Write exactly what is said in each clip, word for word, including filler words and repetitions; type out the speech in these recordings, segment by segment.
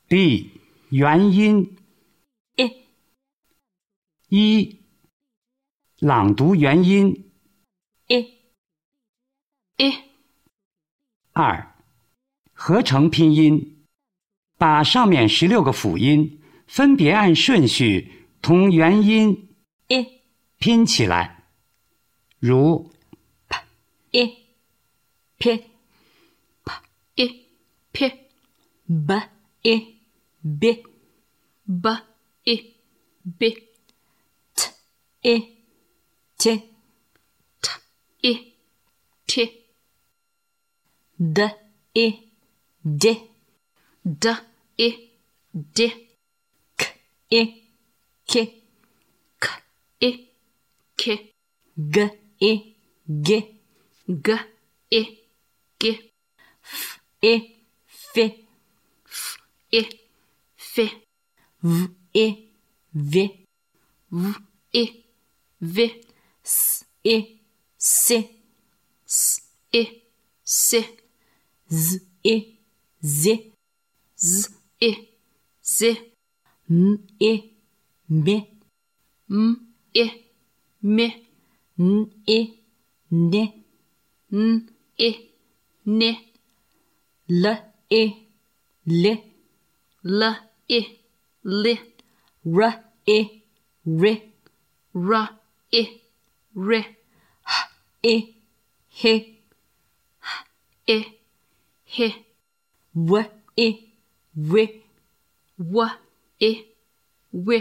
B. 元音 I. 一、朗读元音 I. I. 二、合成拼音，把上面十六个辅音分别按顺序同元音 I. 拼起来，如 I. P. P. I. P. B. I. B. B. I. B. T. I. T. T. I. T. D. I. D. D. I. D. K. I. K. K. I. K. G. I. G. G. I. G. F. I. F. F. I. F. V. I. V. V. I. V. S. I. C. S. I. C. Z. I. Z. Z. I. Z. M. I. M. M. I. M. N. I. N. N. I. N. L. I. L. L. I. L. R. I. R. R. I. R. H. I. H. H. I. H. W. I. W. W. I. W.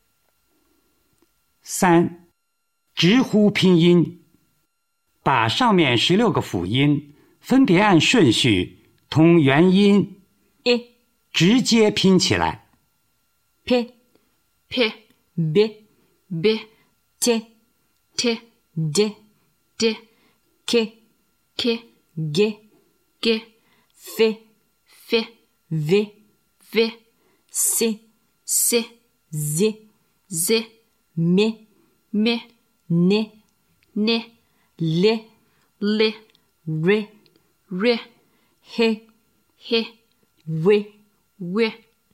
三、直呼拼音，把上面十六个辅音分别按顺序同元音 I. 直接拼起来， P. P. B. B. T. T. D. D. K. K. G. G. F. F. V. V. C. C. Z. Z. M. M. N. N. L. L. R. R. H. H. W. W.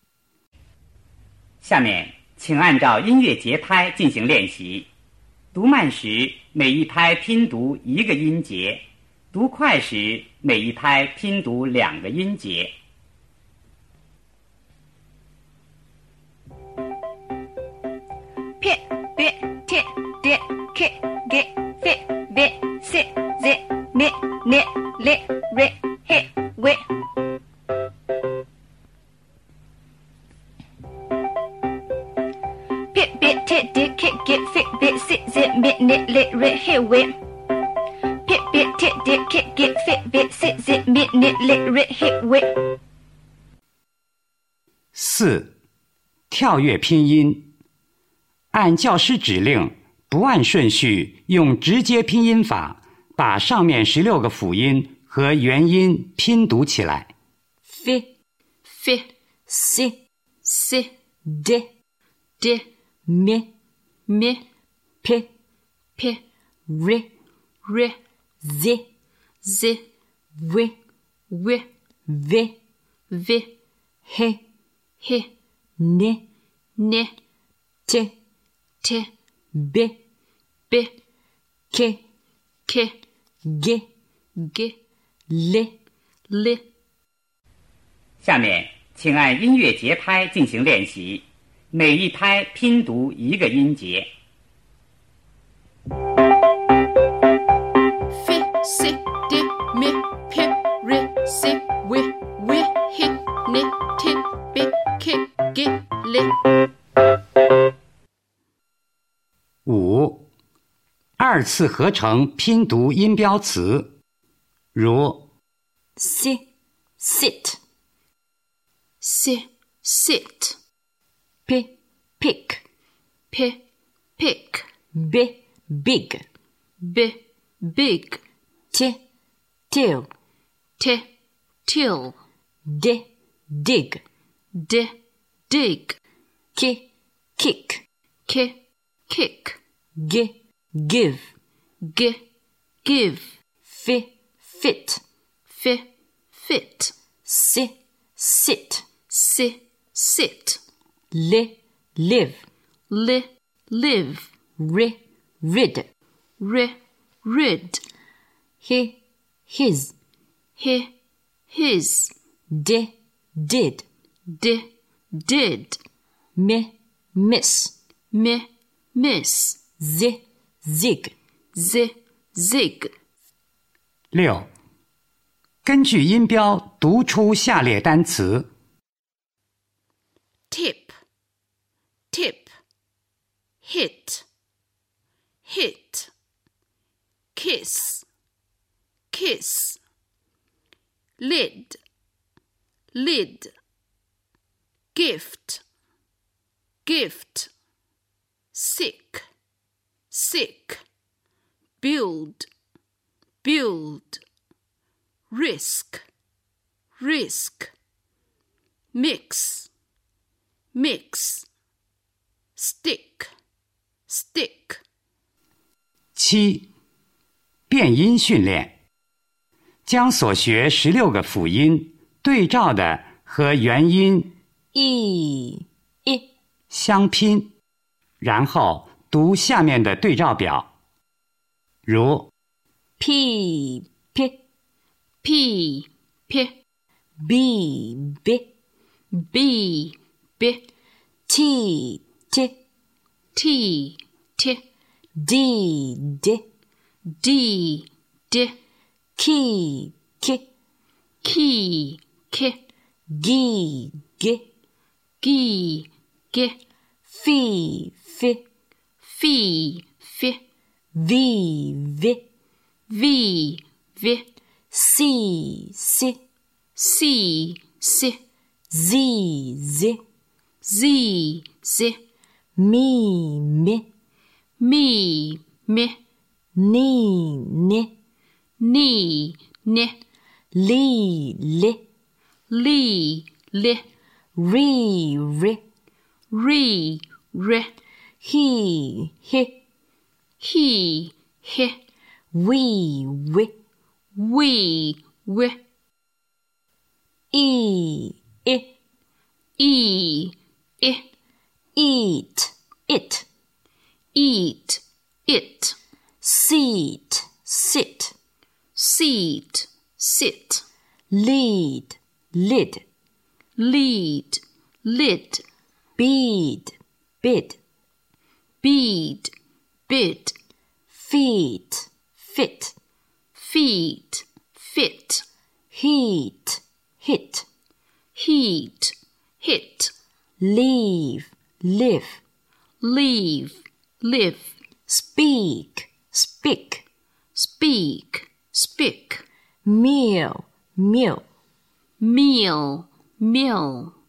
下面请按照音乐节拍进行练习。读慢时，每一拍拼读一个音节；读快时，每一拍拼读两个音节。 P. B. T. D. K. G. F. V. C. Z. M. N. L. R. H. W. P. B. T. D. K. G. F. V. C. Z. M. N. L. R. H. W. P. B. T. D. K. G. F. V. C. Z. M. N. L. R. H. W. 四、跳跃拼音，按教师指令，不按顺序，用直接拼音法把上面十六个辅音和元音拼读起来。 F. F. C. C. D. D. M. M. P. P. R. R. Z. Z. W. W. V. V. H. H. N. N. T. T. B. B. K. K. G. G. L. L. 下面请按音乐节拍进行练习，每一拍拼读一个音节。 F. C. D. M. P. R. C. W. W. H. N. T. B. K. G. L. 五、二次合成拼读音标词，如 C. Sit. C. Sit. P. Pick. P. Pick. B. Big. B. Big. T. Till. T. Till. D. Dig. D. Dig. K. Kick. K. Kick. G. Give. G. Give. F. Fit. F. Fit. C. Sit. C. sit, li, live, li, live, ri, rid, ri, rid, hi, his, hi, his, di, did, di, did, mi, miss, mi, miss, zi, zig, zi, zig. 六，根据音标读出下列单词 tip, tip, hit, hit, kiss, kiss, lid, lid, gift, gift, sick, sick, build, build, risk, risk, mix, mix, stick, stick. 七，变音训练，将所学十六个辅音对照的和元音 i, i, 相拼，然后读下面的对照表，如 p, p, P, P, b, b, B, B, t, t, T, T, d, d, D, D, ki, ki, Key, K, gi, gi, G, G, fi, fi, Phi, Phi, vi, vi, V, V, si, si, C, C, zi, zi, Z, Z, mi, mi, Me, Me, ni, ni, Ni, Ni, li, li, Li, Li, ri, ri, Re, Re, hi, hi, He, He, we, we, We, We, i, i, E, I, eat, it, Eat, It, sit, sit, Seat, Sit, lead, lid, Lead, Lid, bead, bid, Bead, Bid, feet, fit, Feet, Fit, heat, hit, Heat, Hit, leave, live, Leave, Live, speak, speak, Speak, Spick, meal, meal, Meal, Mill,